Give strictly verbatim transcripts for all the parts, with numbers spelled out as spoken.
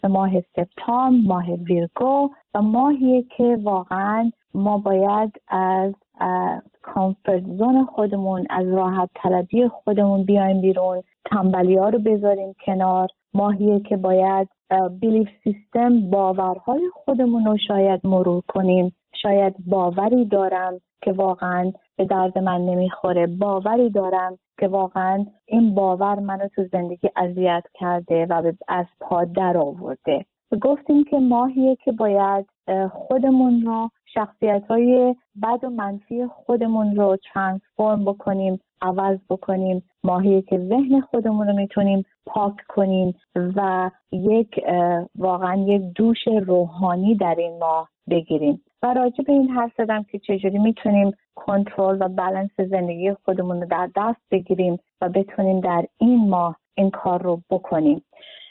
به ماه سپتامبر، ماه ویرگو و ماهیه که واقعا ما باید از کامفورت زون خودمون، از راحت طلبی خودمون بیایم بیرون، تنبلی ها رو بذاریم کنار. ماهیه که باید بیلیف سیستم، باورهای خودمون رو شاید مرور کنیم. شاید باوری دارم که واقعا به درد من نمیخوره، باوری دارم که واقعا این باور منو تو زندگی اذیت کرده و از پا در آورده. گفتیم که ماهیه که باید خودمون رو، شخصیت‌های بد و منفی خودمون رو ترانسفورم بکنیم، عوض بکنیم. ماهیه که ذهن خودمون رو میتونیم پاک کنیم و یک واقعا یک دوش روحانی در این ماه بگیریم. و راجع به این حرف زدم که چجوری میتونیم کنترل و بالانس زندگی خودمون رو در دست بگیریم و بتونیم در این ماه این کار رو بکنیم.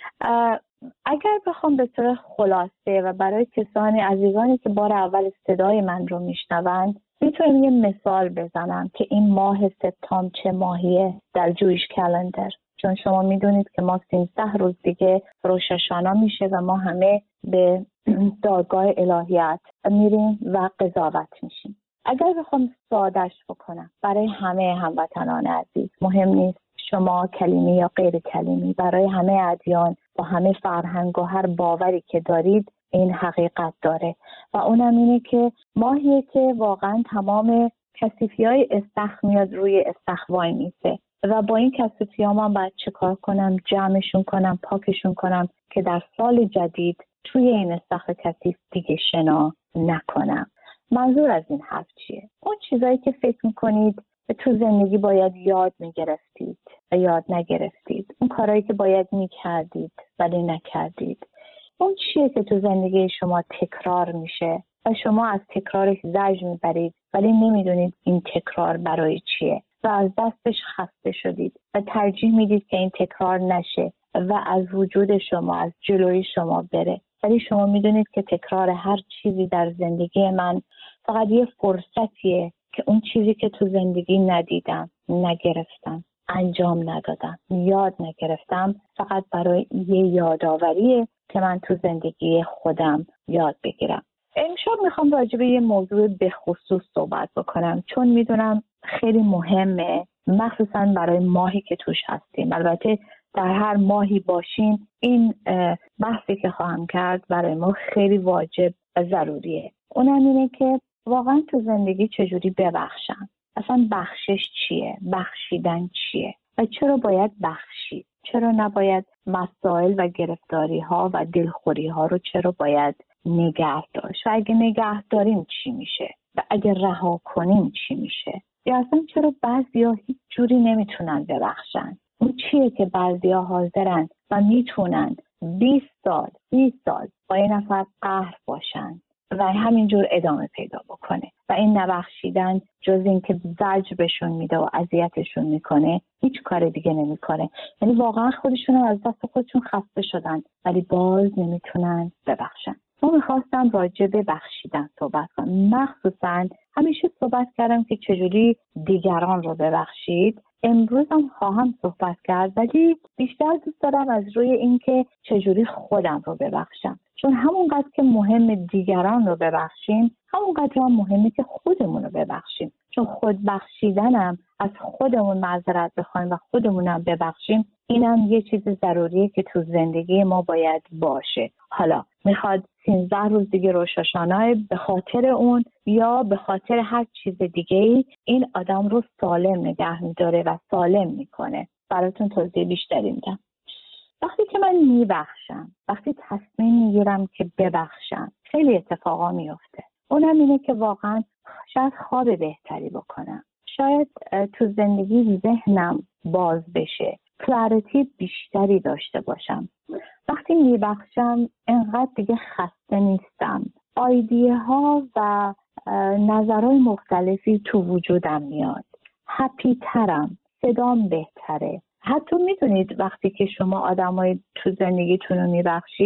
اگر بخوام به طور خلاصه و برای کسانی عزیزانی که بار اول صدای من رو میشنوند میتونم یه مثال بزنم که این ماه سپتامبر چه ماهیه در جویش کلندر. چون شما میدونید که ما سیزده روز دیگه روش هاشانا میشه و ما همه به دادگاه الهیات میریم و قضاوت میشیم. اگر بخوام سادهش بکنم برای همه هموطنان عزیز، مهم نیست شما کلیمی یا غیر کلیمی، برای همه ادیان و همه فرهنگ و هر باوری که دارید این حقیقت داره و اونم اینه که ماهیه که واقعا تمام کثیفی های استخ میاد روی استخ وای میسه و با این کثیفی ها من باید چه کار کنم؟ جمعشون کنم، پاکشون کنم که در سال جدید توی این استخ کثیف دیگه شنا نکنم. منظور از این حرف چیه؟ اون چیزایی که فکر میکنید تو زندگی باید یاد میگرفتید و یاد نگرفتید، اون کارهایی که باید میکردید ولی نکردید، اون چیه که تو زندگی شما تکرار میشه و شما از تکرارش زجر میبرید ولی نمیدونید این تکرار برای چیه و از دستش خسته شدید و ترجیح میدید که این تکرار نشه و از وجود شما، از جلوی شما بره. ولی شما میدونید که تکرار هر چیزی در زندگی من فقط یه فرصتیه که اون چیزی که تو زندگی ندیدم، نگرفتم، انجام ندادم، یاد نگرفتم، فقط برای یه یاداوریه که من تو زندگی خودم یاد بگیرم. امشب میخوام راجع به یه موضوع به خصوص صحبت بکنم چون میدونم خیلی مهمه، مخصوصا برای ماهی که توش هستیم. البته در هر ماهی باشین این بحثی که خواهم کرد برای ما خیلی واجب و ضروریه. اونم اینه که واقعا تو زندگی چجوری ببخشم؟ اصلا بخشش چیه؟ بخشیدن چیه؟ و چرا باید بخشید؟ چرا نباید مسائل و گرفتاری ها و دلخوری ها رو چرا باید نگه داشت؟ و اگه نگه داریم چی میشه؟ و اگه رها کنیم چی میشه؟ یا اصلا چرا بعضیا هیچ جوری نمیتونن ببخشن؟ اون چیه که بعضیا حاضرن و میتونن بیست سال، سی سال با یه نفر قهر باشن و همینجور ادامه پیدا بکنه و این نبخشیدن جز این که زجر بهشون میده و اذیتشون میکنه هیچ کار دیگه نمیکنه. یعنی واقعا خودشون از دست خودشون خسته شدن ولی باز نمیتونن ببخشن. ما میخواستم راجع به بخشیدن صحبت کنم. مخصوصا همیشه صحبت کردم که چجوری دیگران رو ببخشید. امروز هم خواهم صحبت کرد ولی بیشتر دوست دارم از روی این که چجوری خودم رو ببخشم، چون همونقدر که مهم دیگران رو ببخشیم همونقدر هم مهمه که خودمون رو ببخشیم، چون خود بخشیدنم از خودمون معذرت بخوایم و خودمونم ببخشیم اینم یه چیز ضروریه که تو زندگی ما باید باشه. حالا میخواد سیزده روز دیگه روش هاشانا به خاطر اون یا به خاطر هر چیز دیگه ای این آدم رو سالم نگه میداره و سالم میکنه. براتون توضیح بیشتری میدم. وقتی که من میبخشم، وقتی تصمیم میگیرم که ببخشم خیلی اتفاقا میفته. اونم اینه که واقعا شاید خواب بهتری بکنم، شاید تو زندگی ذهنم باز بشه، کلاریتی بیشتری داشته باشم. وقتی میبخشم انقدر دیگه خسته نیستم، ایده ها و نظرهای مختلفی تو وجودم میاد، هپی ترم، صدام بهتره. حتی میدونید وقتی که شما آدمای تو زندگیتون رو میبخشید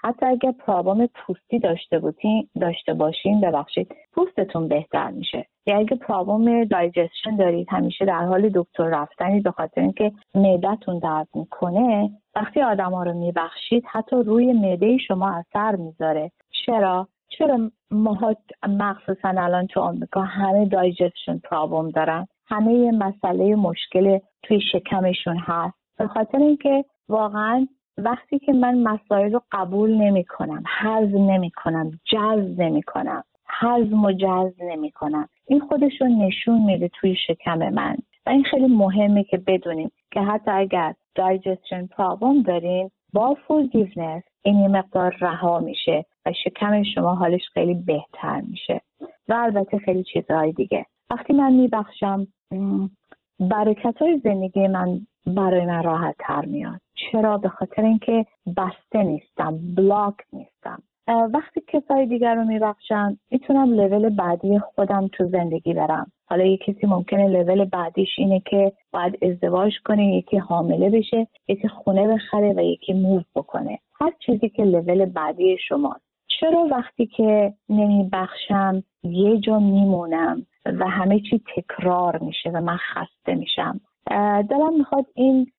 حتی اگر پرابلم پوستی داشته بودین داشته باشین ببخشید پوستتون بهتر میشه. یا اگه پرابلم دایجستشن دارید همیشه در حال دکتر رفتنید به خاطر اینکه معدتون درد میکنه، وقتی آدما رو میبخشید حتی روی معده شما اثر میذاره. چرا؟ چرا ماها مخصوصا الان تو آمریکا همه دایجستشن پرابلم دارن، همه یه مسئله مشکل توی شکمشون هست، به خاطر اینکه واقعا وقتی که من مسائل رو قبول نمی کنم، هضم نمی کنم، جذب نمی کنم، هضم و جذب نمی کنم، این خودش رو نشون میده توی شکم من. و این خیلی مهمه که بدونیم که حتی اگر دایجستشن پرابلم دارین با forgiveness این یه مقدار رها میشه و شکم شما حالش خیلی بهتر میشه. و البته خیلی چیزهای دیگه. وقتی من میبخشم برکت های زندگی من برای من راحت تر میاد. چرا؟ به خاطر اینکه بسته نیستم، بلاک نیستم. وقتی کسای دیگر رو میبخشم میتونم لول بعدی خودم تو زندگی برم. حالا یکی کسی ممکنه لول بعدیش اینه که باید ازدواج کنه، یکی حامله بشه، یکی خونه بخره و یکی موو بکنه. هر چیزی که لول بعدی شماست. چرا وقتی که نمیبخشم یه جا میمونم و همه چی تکرار میشه و من خسته میشم؟ دلم میخواد این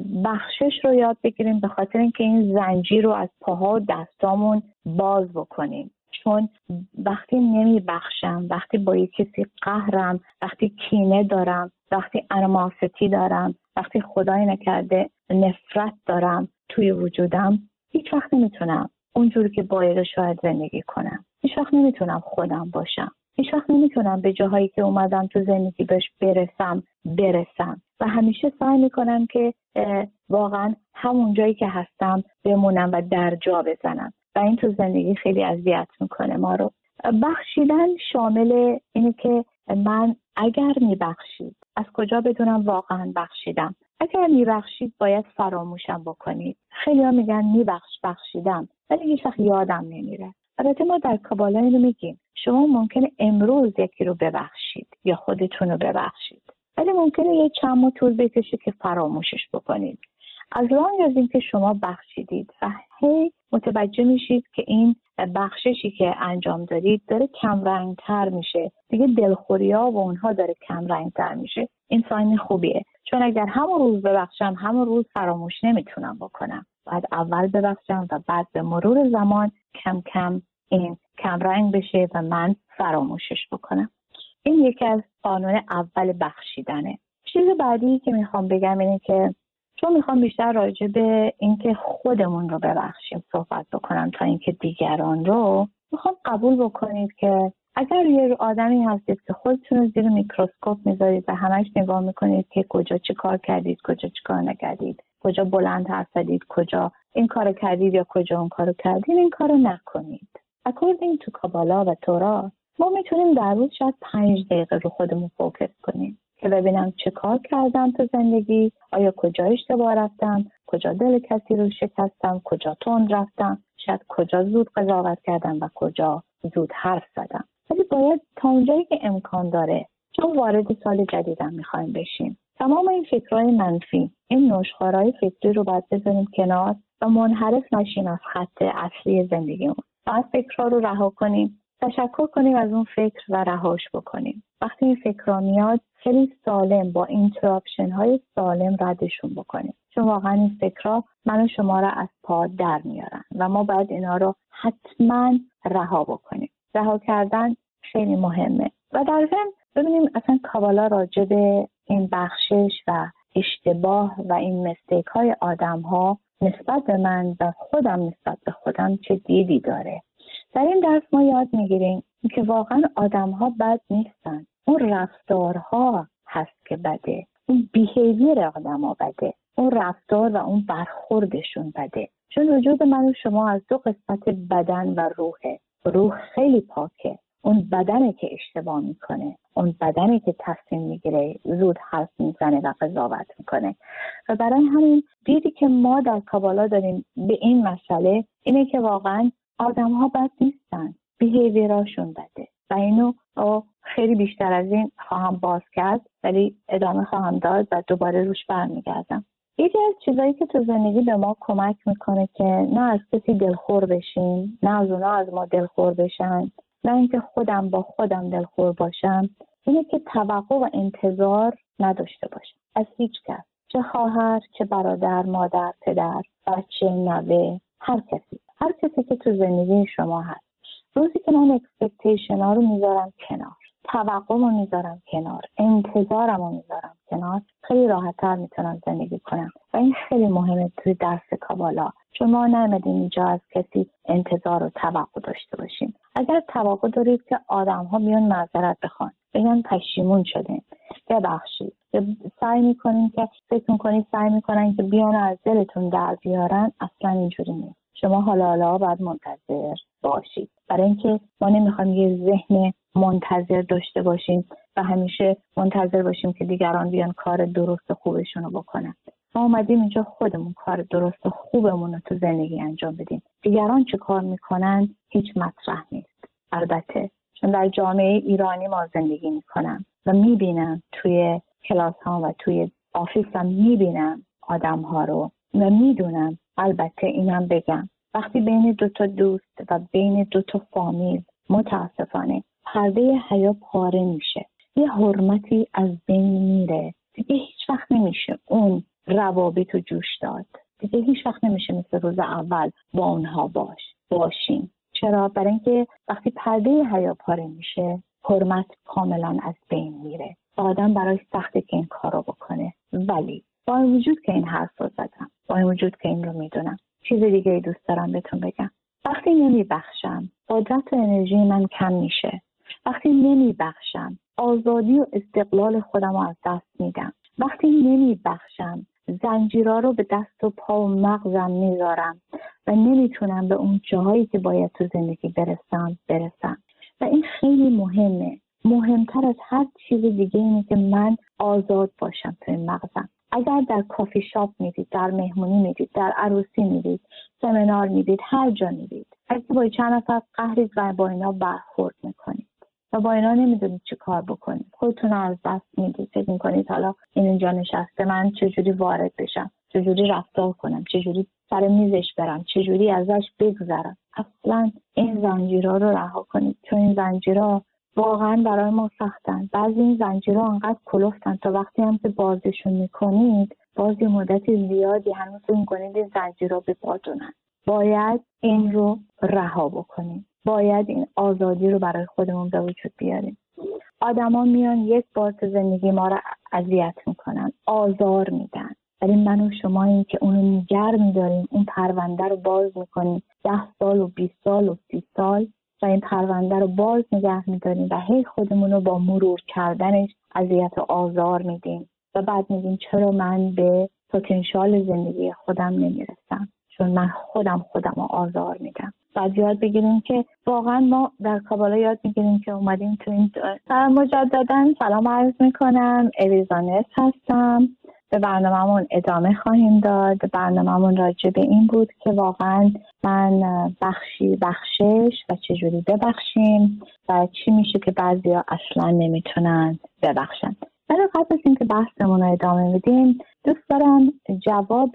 بخشش رو یاد بگیریم به خاطر اینکه این زنجیر رو از پاها و دستامون باز بکنیم. چون وقتی نمیبخشم، وقتی با یک کسی قهرم، وقتی کینه دارم، وقتی انیماسیتی دارم، وقتی خدای نکرده نفرت دارم توی وجودم، هیچ وقت نمیتونم اونجوری که باید شاید زندگی کنم. هیچ وقت نمیتونم خودم باشم. هیچ وقت نمیتونم به جاهایی که اومدم تو زندگی بهش برسم برسم و همیشه سعی میکنم که واقعا همون جایی که هستم بمونم و در جا بزنم و این تو زندگی خیلی اذیت میکنه ما رو. بخشیدن شامل اینه که من اگر میبخشید از کجا بدونم واقعا بخشیدم؟ اگر میبخشید باید فراموشم بکنید. خیلی ها میگن میبخش بخشیدم ولی هیچ وقت یادم نمیره. البته ما در کابالا اینو میگیم شما ممکنه امروز یکی رو ببخشید یا خودتون رو ببخشید ولی ممکنه یه چند ماه طول بکشه که فراموشش بکنید. از لانگ از این که شما بخشیدید و هی متوجه میشید که این بخششی که انجام دارید داره کم رنگ تر میشه، دیگه دلخوری ها و اونها داره کم رنگ تر میشه، این ساین خوبیه. چون اگر همون روز ببخشم همون روز فراموش نمیتونم بکنم. باید اول ببخشم و بعد به مرور زمان کم کم این کم رنگ بشه و من فراموشش بکنم. این یکی از قانون اول بخشیدنه. چیز بعدی که میخوام بگم اینه که چون میخوام بیشتر راجع به اینکه خودمون رو ببخشیم صحبت بکنم تا اینکه دیگران رو، میخوام قبول بکنید که اگر یه آدمی هستید که خودتون رو زیر میکروسکوپ میذارید و همش نگاه میکنید که کجا چی کار کردید، کجا چی کار نکردید، کجا بلند حرف زدید، کجا این کارو کردید یا کجا اون کارو کردید، این کارو نکنید. according to کابالا و تورا ما میتونیم در روز شاید پنج دقیقه رو خودمون فوکس کنیم که ببینم چه کار کردم تو زندگی، آیا کجا اشتباه رفتم، کجا دل کسی رو شکستم، کجا تند رفتم، شاید کجا زود قضاوت کردم و کجا زود حرف زدم. ولی باید تا اونجایی که امکان داره، چون وارد سال جدیدم میخوایم بشیم، تمام این فکرهای منفی، این نشخوارهای فکری رو باید بذاریم کنار و منحرف نشیم از خط اصلی زندگیمون. باید فکرها رو رها کنیم، تشکر کنیم از اون فکر و رهاش بکنیم. وقتی این فکرها میاد خیلی سالم با اینتراپشن های سالم ردشون بکنیم، چون واقعا این فکرها من و شما را از پا در میارن و ما باید اینا رو حتما رها بکنیم. رها کردن خیلی مهمه. و در ضمن ببینیم اصلا کابالا راجع به این بخشش و اشتباه و این مستیک های آدم ها نسبت به من و خودم نسبت به خودم چه دیدی داره. در این درس ما یاد میگیریم که واقعا آدم ها بد نیستن، اون رفتارها هست که بده، اون بیهیویر آدم ها بده، اون رفتار و اون برخوردشون بده. چون وجود من و شما از دو قسمت بدن و روحه. روح خیلی پاکه، اون بدنه که اشتباه میکنه، اون بدنه که تصمیم میگیره، زود حرف میزنه و قضاوت میکنه. و برای همین دیدی که ما در کابالا داریم به این مسئله اینه که واقعا آدم ها بد نیستن، بیهیویراشون بده. و اینو خیلی بیشتر از این خواهم باز کرد ولی ادامه خواهم داد و دوباره روش برمیگردم. یکی از چیزایی که تو زندگی به ما کمک میکنه که نه از کسی دلخور بشیم، نه از اونا از ما دلخور بشن، نه اینکه خودم با خودم دلخور باشم، اینه که توقع و انتظار نداشته باشم از هیچ کس، چه خواهر، چه برادر، مادر، پدر، بچه، نوه، هر کسی هر کسی که تو زندگی شما هست. روزی که من اکسپکتیشن ها رو میذارم کنار، توقعم رو میذارم کنار، انتظارم رو میذارم کنار، خیلی راحت‌تر میتونم زندگی کنم. و این خیلی مهمه توی درس کابالا، چون ما نمیدیم اینجا از کسی انتظار و توقع داشته باشیم. اگر توقع دارید که آدم ها بیان معذرت بخوان، بگن پشیمون شدیم، ببخشید، سعی میکنین که فکر میکنید سعی میکنن که بیان از دلتون در بیارن، اصلا اینجوری نیست. شما حالا حالا باید منتظر باشید، برای اینکه ما نمیخوایم یه ذهن منتظر داشته باشیم و همیشه منتظر باشیم که دیگران بیان کار درست و خوبشون رو بکنن. ما اومدیم اینجا خودمون کار درست و خوبمون رو تو زندگی انجام بدیم. دیگران چه کار میکنن هیچ مطرح نیست. البته چون در جامعه ایرانی ما زندگی میکنم و میبینم توی کلاس ها و توی آفیس هم میبینم آدم ها رو و میدونم. البته اینم بگم وقتی بین دو تا دوست و بین دو تا فامیل متاسفانه پرده حیا پاره میشه، یه حرمتی از بین میره، دیگه هیچ وقت نمیشه اون روابط رو جوش داد. دیگه هیچ وقت نمیشه مثل روز اول با اونها باش باشیم. چرا؟ برای اینکه وقتی پرده حیا پاره میشه حرمت کاملا از بین میره. آدم برای سخته که این کار رو بکنه، ولی با این وجود که این حرف رو زدم، با این وجود که این رو میدونم، چیز دیگه ای دوست دارم بهتون بگم. وقتی نمیبخشم قدرت و انرژی من کم میشه. وقتی نمیبخشم آزادی و استقلال خودم رو از دست میدم. وقتی نمیبخشم زنجیرها رو به دست و پا و مغزم میذارم و نمیتونم به اون جاهایی که باید تو زندگی برسم برسم. و این خیلی مهمه. مهمتر از هر چیز دیگه اینه که من آزاد باشم توی مغزم. اگر در کافی شاپ میرید، در مهمونی میرید، در عروسی میرید، سمینار میرید، هر جا میرید، اگه با چند نفر قهرید و با اینا برخورد میکنید و با اینا نمیدونید چی کار بکنید، خودتون از دست میدید، فکر میکنید حالا این اینجا نشسته، من چجوری وارد بشم، چجوری رفتار کنم، چجوری سر میزش برم، چجوری ازش بگذرم. اصلا این زنجیرها رو رها کنید، چون این زنجیرها واقعا برای ما سختن. بعضی این زنجیرها انقدر کلفتن تا وقتی هم که بازشون میکنید باز یه مدت زیادی هنوز فکر میکنید این زنجیرها به پاتونن. باید این رو رها بکنیم، باید این آزادی رو برای خودمون به وجود بیاریم. آدما میان یک بار تو زندگی ما رو اذیت میکنن، آزار میدن، ولی من و شما این که اونو نگر میداریم، اون پرونده رو باز میکنیم ده سال و بیست سال و سی سال و این پرونده رو باز نگه میداریم و هی خودمون رو با مرور کردنش اذیت و آزار میدیم و بعد میگیم چرا من به پتانسیل زندگی خودم نمیرسم، چون من خودم خودم رو آزار میدم. بعد یاد بگیریم که واقعا ما در کابالا یاد میگیریم که اومدیم تو این مجددا سلام عرض میکنم. الیزانت هستم. به برنامه‌مون ادامه خواهیم داد. برنامه‌مون راجع به این بود که واقعا من بخشی بخشش و چجوری ببخشیم و چی میشه که بعضیا اصلا نمیتونن ببخشن. ولی قبل از اینکه بحثمون رو ادامه بدیم دوست دارم جواب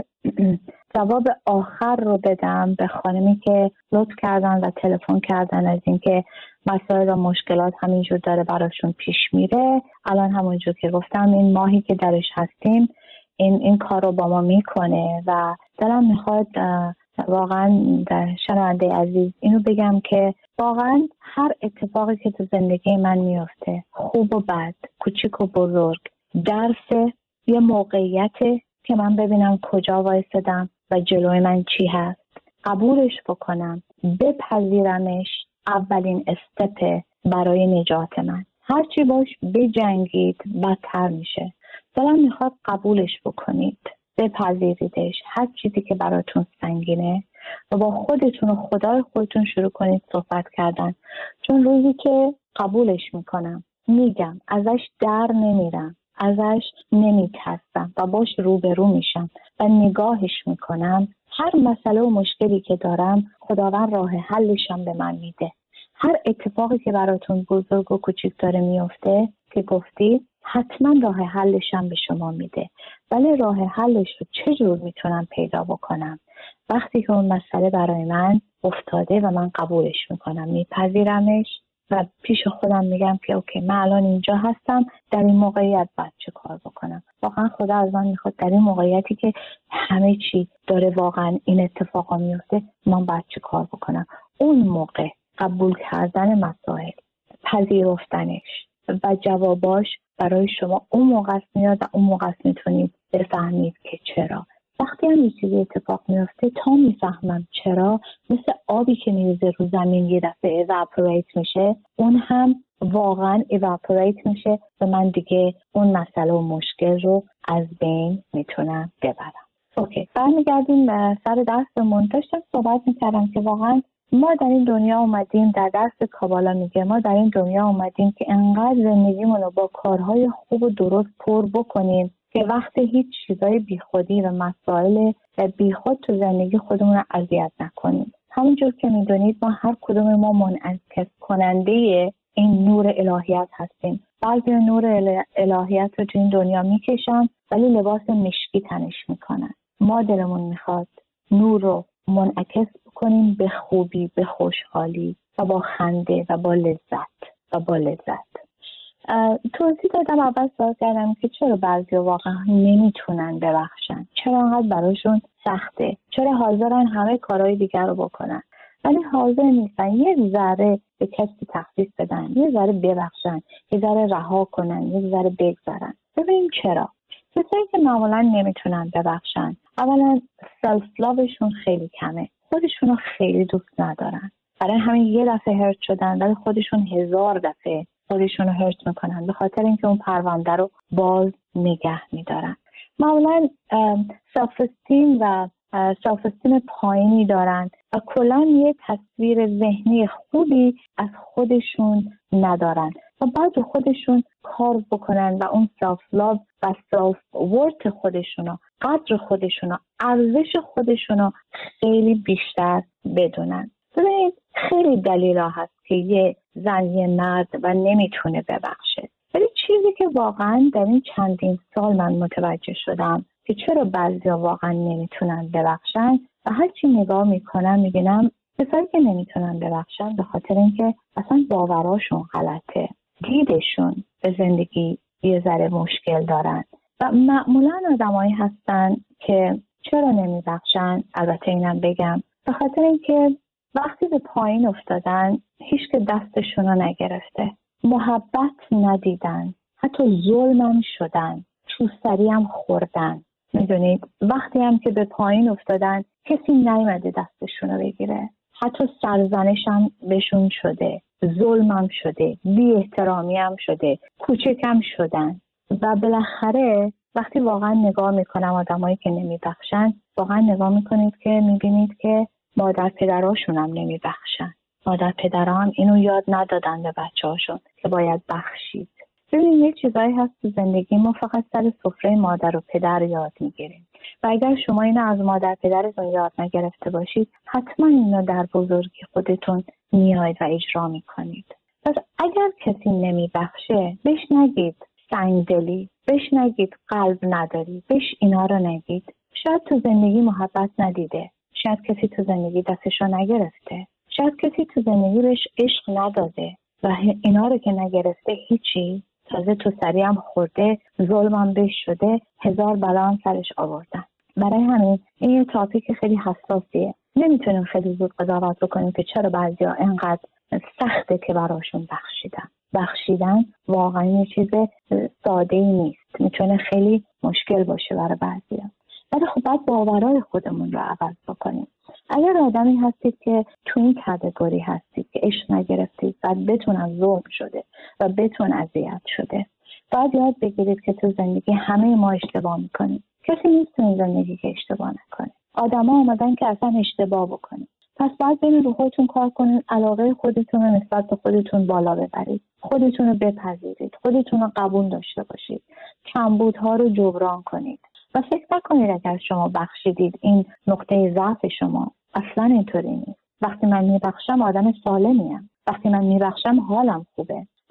جواب آخر رو بدم به خانمی که لطف کردن و تلفن کردن از اینکه مسائل و مشکلات همینجور داره براشون پیش میره. الان همونجور که گفتم این ماهی که درش هستیم این این کار رو با ما میکنه و دلم میخواد واقعا شنونده عزیز اینو بگم که واقعا هر اتفاقی که تو زندگی من میفته، خوب و بد، کوچیک و بزرگ، درس یه موقعیت که من ببینم کجا وایسادم و جلوی من چی هست، قبولش بکنم، بپذیرمش، اولین استپ برای نجات من. هرچی باش بجنگید بدتر میشه. دلم میخواد قبولش بکنید، بپذیریدش، هر چیزی که براتون سنگینه و با خودتون و خدای خودتون شروع کنید صحبت کردن. چون روزی که قبولش میکنم، میگم، ازش در نمیرم، ازش نمیترسم و باش روبرو میشم و نگاهش میکنم، هر مسئله و مشکلی که دارم خداوند راه حلشم به من میده. هر اتفاقی که براتون بزرگ و کوچیک داره میفته که گفتید حتما راه حلش هم به شما میده. ولی راه حلش رو چجور میتونم پیدا بکنم؟ وقتی که اون مسئله برای من افتاده و من قبولش میکنم، میپذیرمش و پیش خودم میگم که اوکی، من الان اینجا هستم، در این موقعیت باید چه کار بکنم. واقعا خدا از من میخواد در این موقعیتی که همه چی داره واقعا این اتفاقا میفته، من باید چه کار بکنم. اون موقع قبول کردن مسائل، پذیرفتنش و جواباش برای شما اون موقع میاد و اون موقع میتونید بفهمید که چرا. وقتی هم یه چیزی اتفاق میفته تا میفهمم چرا، مثل آبی که میریزه رو زمین یه دفعه evaporate میشه، اون هم واقعا evaporate میشه و من دیگه اون مسئله و مشکل رو از بین میتونم ببرم. اوکی، برمیگردیم سر درسمون. داشتم صحبت میکردم که واقعا ما در این دنیا اومدیم، در درس کابالا میگه ما در این دنیا اومدیم که انقدر زندگیمون رو با کارهای خوب و درست پر بکنیم که وقت هیچ چیزای بیخودی و مسائل بیخود تو زندگی خودمون رو اذیت نکنیم. همونجور که میدونید ما هر کدوم ما منعکس کننده این نور الهیت هستیم. بعضی نور الهیت رو تو این دنیا میکشن ولی لباس مشکی تنش میکنن. ما دلمون میخواد نور رو منعکس بکنیم به خوبی، به خوشحالی و با خنده و با لذت و با لذت. توضیح دادم، اول سوال کردم که چرا بعضی واقعا نمیتونن ببخشن، چرا انقدر براشون سخته، چرا حاضرن همه کارهای دیگر رو بکنن ولی حاضر نیستن یه ذره به کسی تخفیف بدن، یه ذره ببخشن، یه ذره رها کنن، یه ذره بگذارن. ببینیم چرا. کسایی که معمولا نمیتونن ببخشن، اولا سلف لاوشون خیلی کمه، خودشونو خیلی دوست ندارن، برای همین یه دفعه هرت شدن ولی خودشون هزار دفعه خودشونو هرت میکنن به خاطر اینکه اون پرونده رو باز نگه میدارن. معمولا سلف استیم و سلف استیم پایینی دارن و کلا یه تصویر ذهنی خوبی از خودشون ندارن و باید خودشون کار بکنن و اون سلف لاو و سلف ورت خودشونو، قدر خودشونو، ارزش خودشونو خیلی بیشتر بدونن. ببینید خیلی دلیل هست که یه زن یه مرد و نمیتونه ببخشه، ولی چیزی که واقعا در این چندین سال من متوجه شدم که چرا بعضیا واقعا نمیتونن ببخشن و هرچی نگاه میکنم میبینم کسایی که نمیتونن ببخشن به خاطر اینکه اصلا باوراشون غلطه، دیدشون به زندگی یه ذره مشکل دارن و معمولا آدمایی هستن که چرا نمیبخشن. البته اینم بگم به خاطر اینکه وقتی به پایین افتادن هیچ که دستشون رو نگرفته، محبت ندیدن، حتی ظلمم شدن، چوستری هم خوردن. میدونید وقتی هم که به پایین افتادن کسی نیومده دستشون رو بگیره، حتی سرزنش هم بهشون شده، ظلمم شده، بی احترامی هم شده، کوچکم شدن و بالاخره وقتی واقعا نگاه میکنم آدمایی که نمیبخشن، واقعا نگاه میکنید که میبینید که مادر پدراشون هم نمیبخشن. مادر پدرها هم اینو یاد ندادن به بچه هاشون که باید بخشید. ببینید یه چیزایی هست تو زندگی ما فقط سر سفره مادر و پدر یاد میگیریم و اگر شما اینو از مادر پدرتون یاد نگرفته باشید حتما اینو در بزرگی خودتون میاید و اجرا میکنید. پس اگر کسی نمیبخشه بهش نگید سنگدلی، بهش نگید قلب نداری، بهش اینا رو نگید. شاید تو زندگی محبت ندیده، شاید کسی تو زندگی دستشو نگرفته، شاید کسی تو زندگی بهش عشق نداده و اینا رو که نگرفته هیچی، تازه تو سری هم خورده، ظلم هم بهش شده، هزار بلا هم سرش آوردن. برای همین این یه تاپیک خیلی حساسیه. نمیتونیم خیلی زود قضاوت بکنیم که چرا بعضیا اینقدر سخته که براشون بخشیدن. بخشیدن واقعا یه چیز ساده‌ای نیست، میتونه خیلی مشکل باشه برای بعضیا. ولی خب باید باورهای خودمون رو عوض بکنیم. اگر آدمی هستید که تو این کاتگوری هستید که عشق نگرفتید و بتون ظلم شده و بتون اذیت شده، باید یاد بگیرید که تو زندگی همه ما اشتباه میکنیم. کسی نیست تو این زندگی که اشتباه نکنه. آدما اومدن که اصلا اشتباه بکنید. پس باید برید رو خودتون کار کنید، علاقه خودتون رو نسبت به خودتون بالا ببرید، خودتون رو بپذیرید، خودتون رو قبول داشته باشید، کمبودها رو جبران کنید و فکر نکنید اگر شما بخشیدید این نقطه ضعف شما. اصلا اینطوری نیست. وقتی من میبخشم آدم سالمیم، وقتی من میبخشم حالم خوبه.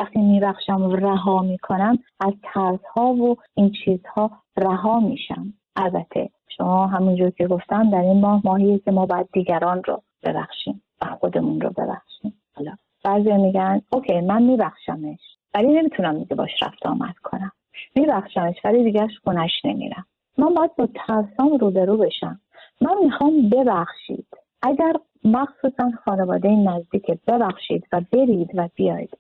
وقتی میبخشم و رها میکنم از ترس ها و این چیزها رها میشم. البته شما همونجور که گفتم در این ماه ماهیه که ما باید دیگران رو ببخشیم و خودمون رو ببخشیم. حالا بعضی میگن اوکی من میبخشمش ولی نمیتونم دیگه باش رفت آمد کنم، میبخشمش ولی دیگه خونش نمیرم. من باید با ترسام روبرو بشم. من میخوام ببخشید. اگر مخصوصا خانواده نزدیک ببخشید و برید و بیاید،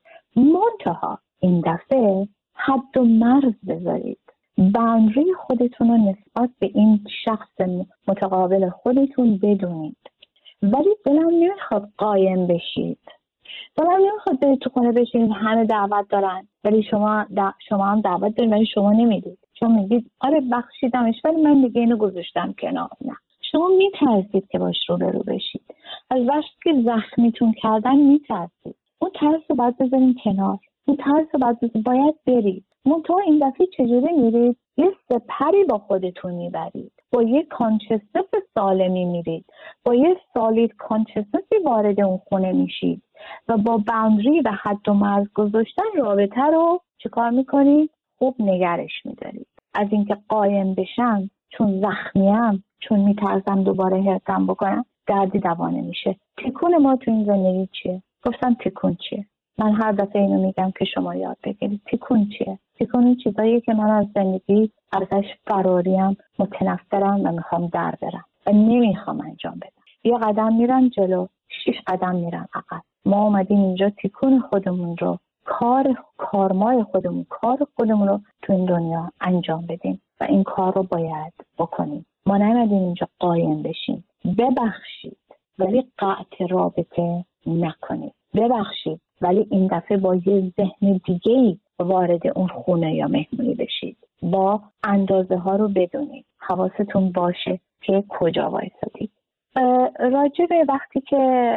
منتها این دفعه حد و مرز بذارید. باندری خودتون رو نسبت به این شخص متقابل خودتون بدونید. ولی دلم نمیخواد قایم بشید. دلم نمیخواد برید تو خونه بشینید همه دعوت دارن ولی شما دا شما هم دعوت دارید ولی شما نمیدید. شما میگید آره بخشیدمش ولی من دیگه اینو گذاشتم کنار. نه، شما میترسید که باش رو برو بشید. از وقتی که زخمیتون کردن میترسید. اون ترس رو باید بذارین کنار. اون ترس رو باید بذارین. باید برید. منتها این دفعه چجوری میرید؟ یه سپری با خودتون میبرید. با یه کانشسنس سالمی میرید. با یه سالید کانشسنسی وارد اون خونه میشید و با باوندری و حد و مرز گذاشتن رابطه رو چیکار میکنید؟ خوب نگرش میدارید. از اینکه قایم بشم چون زخمیم، چون میترسم دوباره هرتم بکنم، دردی دوا نمیشه. تکون ما تو این زندگی چیه؟ گفتم تکون چیه؟ من هر دفعه اینو میگم که شما یاد بگیرید. تکون چیه؟ تکون این چیزاییه که من از زندگی ازش فراریم، متنفرم و میخوام در برم و نمیخوام انجام بدم. یه قدم میرم جلو، شش قدم میرم عقب. ما اومدیم اینجا تکون خودمون رو، کار کارمای خودمون، کار خودمون رو تو این دنیا انجام بدیم و این کار رو باید بکنیم. ما نمیدیم اینجا قایم بشیم. ببخشید ولی قطع رابطه نکنید. ببخشید ولی این دفعه با یه ذهن دیگه‌ای وارد اون خونه یا مهمونی بشید. با اندازه ها رو بدونید. حواستون باشه که کجا وایسادید. راجع به وقتی که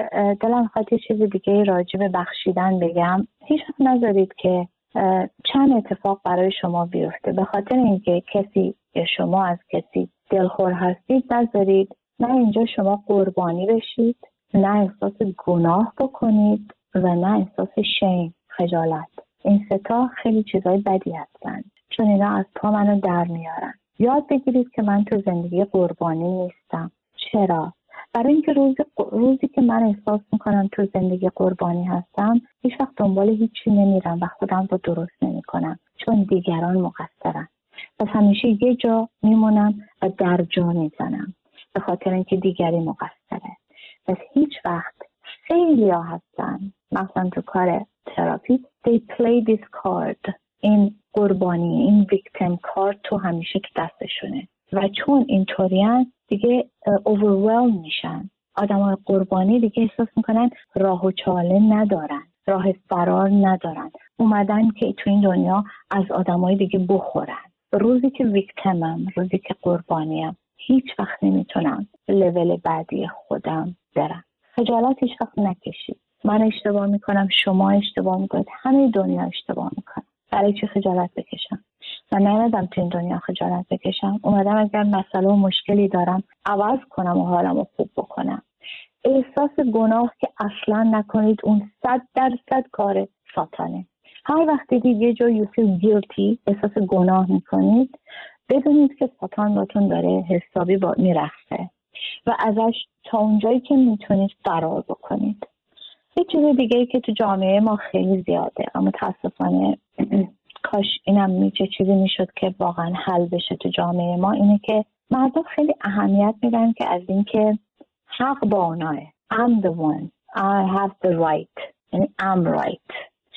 دلم خواهد یه چیز دیگه راجع به بخشیدن بگم، هیچ وقت نذارید که چند اتفاق برای شما بیفته به خاطر اینکه کسی یا شما از کسی دلخور هستید نذارید نه اینجا شما قربانی بشید، نه احساس گناه بکنید و نه احساس شیم، خجالت. این ستا خیلی چیزای بدی هستن چون اینا از پا منو در میارن. یاد بگیرید که من تو زندگی قربانی نیستم. چرا؟ برای اینکه روزی, روزی که من احساس میکنم تو زندگی قربانی هستم هیچ وقت دنبال هیچی نمیرم و خودم رو درست نمیکنم چون دیگران مقصرن. پس همیشه یه جا میمونم و در جا میزنم به خاطر اینکه دیگری مقصره. پس هیچ وقت خیلی ها هستن مثلا تو کار تراپی they play this card، این قربانی، این victim card تو همیشه تو دستشونه و چون اینطورین دیگه overwhelm میشن. آدمای قربانی دیگه احساس میکنن راه و چاله ندارن، راه فرار ندارن، اومدن که تو این دنیا از آدمای دیگه بخورن. روزی که ویکتیمم، روزی که قربانیم، هیچ وقت نمیتونم لول بعدی خودم برم. خجالت هیچ وقت نکشید. من اشتباه میکنم، شما اشتباه میکنید، همه دنیا اشتباه میکنن. برای چی خجالت بکشم؟ من نیومدم تو این دنیا خجالت بکشم. اومدم اگر مسئله و مشکلی دارم عوض کنم و حالمو خوب بکنم. احساس گناه که اصلا نکنید، اون صد درصد کار ساتانه. هر وقت دیدید یه جا you feel guilty، احساس گناه میکنید، بدونید که ساتان باتون داره حسابی با میرخصه و ازش تا اونجایی که میتونید فرار بکنید. یه چیز دیگه ای که تو جامعه ما خیلی زیاده اما متاسفانه کاش اینم میشه چیزی میشد که واقعا حل بشه تو جامعه ما، اینه که مردم خیلی اهمیت میدن که از این که حق با اوناه. I'm the one. I have the right. یعنی I'm right.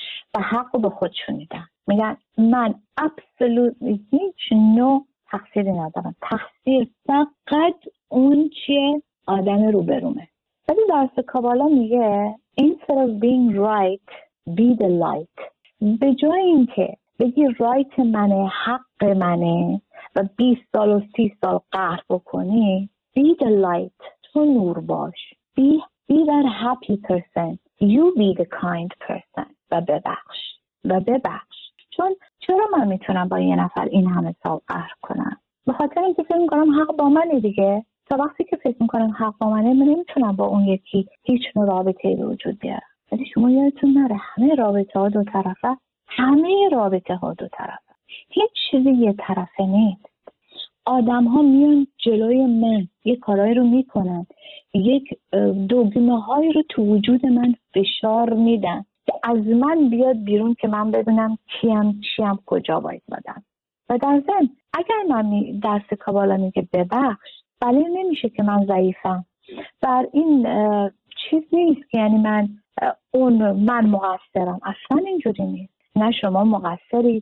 و حق رو به خودشون میدن. میگن من absolutely هیچ نوع تقصیری ندارم. تقصیر فقط اون چیه آدم روبرومه. ولی درس کابالا میگه instead of being right, be the light. به جای اینکه بگی رایت منه، حق منه و بیست سال و سی سال قهر بکنی، be the light. تو نور باش. be, be that happy person. You be the kind person. و ببخش. و ببخش. چون چرا من میتونم با یه نفر این همه سال قهر کنم؟ به خاطر اینکه فکر میکنم حق با منه دیگه. تا وقتی که فکر میکنم حق با منه، من نمیتونم با اون یکی هیچ نوع رابطه‌ای به وجود بیارم. ولی شما یادتون نره همه رابطه ها دو طرفه، همه رابطه ها دو طرفه، هیچ چیزی یه طرفه نیست. آدم ها میان جلوی من یه کارایی رو میکنن، یک دگمه هایی رو تو وجود من فشار میدن که از من بیاد بیرون که من بدونم کیم چیم کجا باید بدم. و در ضمن اگر من درس کابالا میگه ببخش، بله نمیشه که من ضعیفم. بر این چیز نیست که یعنی من اون من مقصرم، اصلا اینجوری نیست. نه شما مقصرید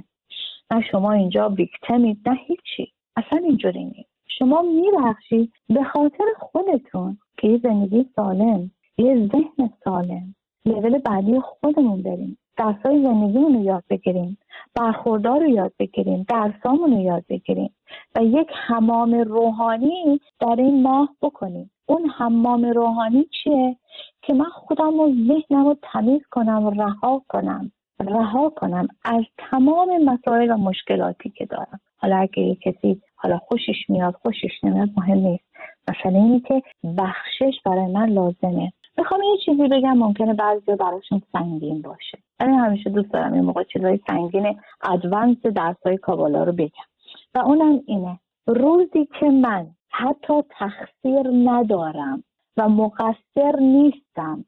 نه شما اینجا ویکتیمید، نه هیچی، اصلا اینجوری نیست. شما میبخشید به خاطر خودتون که یه زندگی سالم، یه ذهن سالم، لول بعدی خودمون بریم، درسای زندگیمون رو یاد بگیریم، برخوردار رو یاد بگیریم، درسامون رو یاد بگیریم و یک حمام روحانی در این ماه بکنیم. اون حمام روحانی چیه؟ که من خودم و ذهنم رو تمیز کنم و رها کنم رها کنم از تمام مسائل و مشکلاتی که دارم. حالا اگه کسی حالا خوشش میاد خوشش نمیاد مهم نیست، مثلا اینه که بخشش برای من لازمه. میخوام یه چیزی بگم ممکنه بعضی براشون سنگین باشه، من همیشه دوست دارم این موقع چیزای سنگین ادوانس درسای کابالا رو بگم و اونم اینه: روزی که من حتی تقصیر ندارم و مقصر نیستم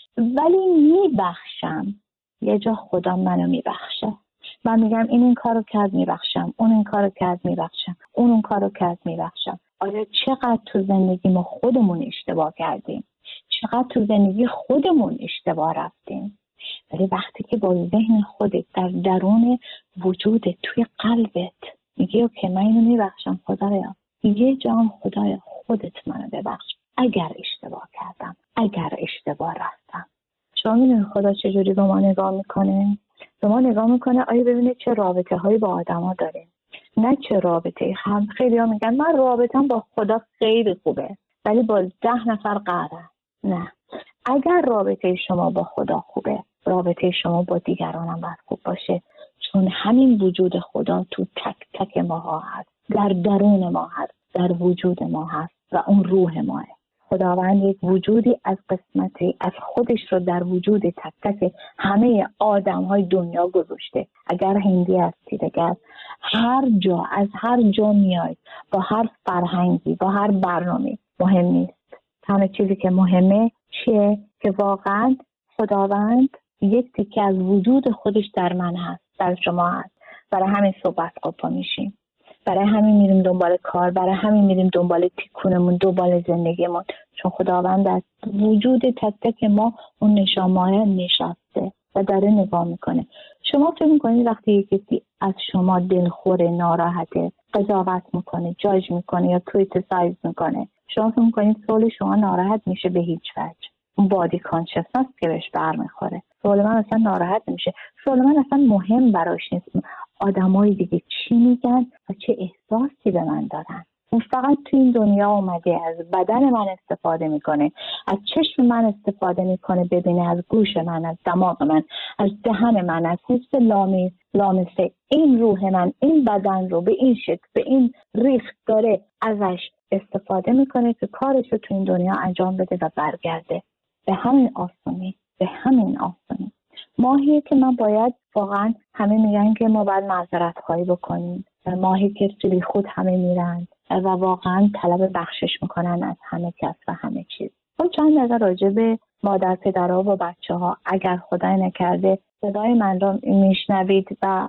ولی میبخشم، یه جا خدا منو میبخشه. من میگم این این کارو کرد میبخشم، اون این کارو کرد میبخشم، اون اون کارو کرد میبخشم. آیا چقدر تو زندگی ما خودمون اشتباه کردیم، چقدر تو زندگی خودمون اشتباه رفتیم. ولی وقتی که با ذهن خودت در درون وجودت توی قلبت میگی اوکی من اینو میبخشم خدایا، یه جام خدایا خودت منو ببخش اگر اشتباه کردم، اگر اشتباه رفتم. شما میدونی خدا چجوری به ما نگاه میکنه؟ به ما نگاه میکنه آیا ببینه چه رابطه هایی با آدم ها داریم، نه چه رابطه. هم خیلی ها میگن من رابطم با خدا خیلی خوبه ولی با ده نفر قهرم. نه، اگر رابطه شما با خدا خوبه، رابطه شما با دیگران هم باید خوب باشه، چون همین وجود خدا تو تک تک ما هست، در درون ما هست، در وجود ما هست و اون روح ماه. خداوند یک وجودی از قسمتی از خودش رو در وجود تک تک همه آدم های دنیا گذاشته. اگر هندی هستید، اگر هر جا از هر جا میاید، با هر فرهنگی، با هر برنامه، مهم نیست. تنها چیزی که مهمه چیه؟ که واقعا خداوند یک تیکه از وجود خودش در من هست، در شما هست. برای همین صحبت قپا میشیم، برای همین میریم دنبال کار، برای همین میریم دنبال تیکونمون، دنبال زندگیمون، چون خداوند از وجود تک تک ما اون نشانه‌ها نشسته و داره نگاه میکنه. شما فکر میکنید وقتی یکی کسی از شما دلخور، ناراحته، قضاوت میکنه، جاج میکنه یا کریتیسایز میکنه، شما فکر میکنید سوال شما ناراحت میشه؟ به هیچ وجه. اون بادی کانشسنس که بهش برمیخوره. سوال من اصلا ناراحت نمیشه، سوال من اصلا مهم براش نیست آدمای دیگه چی میگن و چه احساسی به من دارن. اون فقط تو این دنیا اومده از بدن من استفاده میکنه، از چشم من استفاده میکنه ببینه، از گوش من، از دماغ من، از دهن من، از حس لامی لامسه این روح من، این بدن رو به این شکل، به این ریخت داره ازش استفاده میکنه که کارش رو تو این دنیا انجام بده و برگرده. به همین آسانی، به همین آسانی. ماهیه که من باید واقعا، همه میگن که ما باید معذرت خواهی بکنیم، ماهی که سری خود همه میرن و واقعا طلب بخشش میکنن از همه کس و همه چیز. اون چند دقیقه راجع به مادر پدرها و بچه ها، اگر خدای نکرده صدای من رو میشنوید و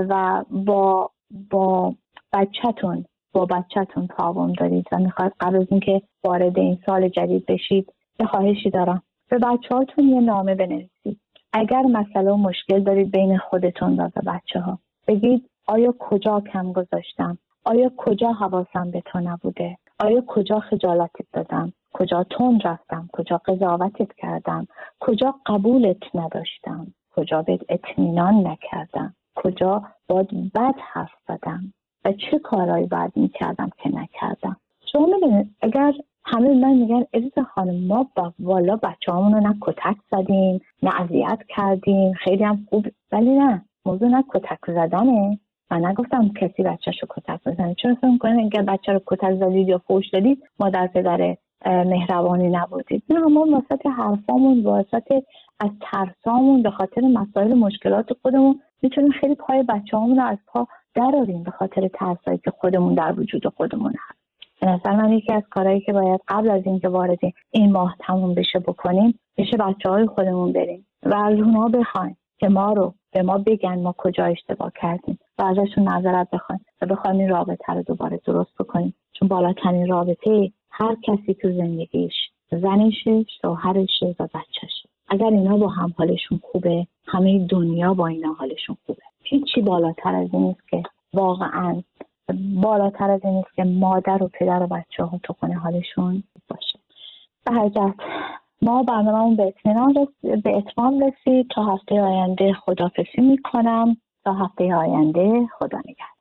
و با با بچه‌تون با بچه‌تون پرابلم دارید و میخواید قبل از اینکه وارد این سال جدید بشید، یه خواهشی دارم، به بچه‌هاتون یه نامه بنویسید. اگر مسئله و مشکل دارید بین خودتون و بچه‌ها، بگید آیا کجا کم گذاشتم؟ آیا کجا حواسم به تو نبوده؟ آیا کجا خجالتت دادم؟ کجا تند رفتم؟ کجا قضاوتت کردم؟ کجا قبولت نداشتم؟ کجا بهت اطمینان نکردم؟ کجا باید بد حرف زدم؟ و چه کارهایی باید میکردم که نکردم؟ شما میدونید اگر همه من میگن عزیز خانم ما با والا بچه همون رو نه کتک زدیم نه اذیت کردیم، خیلی هم خوب، ولی نه، موضوع نه کتک زدنه. من نگفتم کسی بچه‌شو کتک بزنه. چرا فکر می‌کنید اگر بچه رو کتک زدید یا فحش دادید مادر پدر مهربانی نبودید. نه، ما واسط حرفامون، واسط از ترسامون، به خاطر مسائل مشکلات خودمون میتونیم خیلی پای بچه‌هامون رو از پا دراریم به خاطر ترسایی که خودمون در وجود خودمون هست. مثلا من یکی از کارهایی که باید قبل از اینکه وارد این ماه تموم بشه بکنیم، بشه بچه‌های خودمون بریم و از اونها بخوایم که ما رو به ما بگن ما کجا اشتباه کردیم و ازشون معذرت بخوایم و بخوایم این رابطه رو دوباره درست بکنیم. چون بالاترین رابطه هر کسی تو زندگیش، زنشه، شوهرشه و بچهشه، اگر اینا با هم حالشون خوبه، همه دنیا با اینا حالشون خوبه. هیچی بالاتر از این نیست که واقعاً بالاتر از این نیست که مادر و پدر و بچه ها تو خونه حالشون باشه. به هر جهت ما برنامه‌مون به اطمینان رسید، به اتمام رسید. تا هفته آینده خداحافظی میکنم. تا هفته آینده، خدا نگهدار.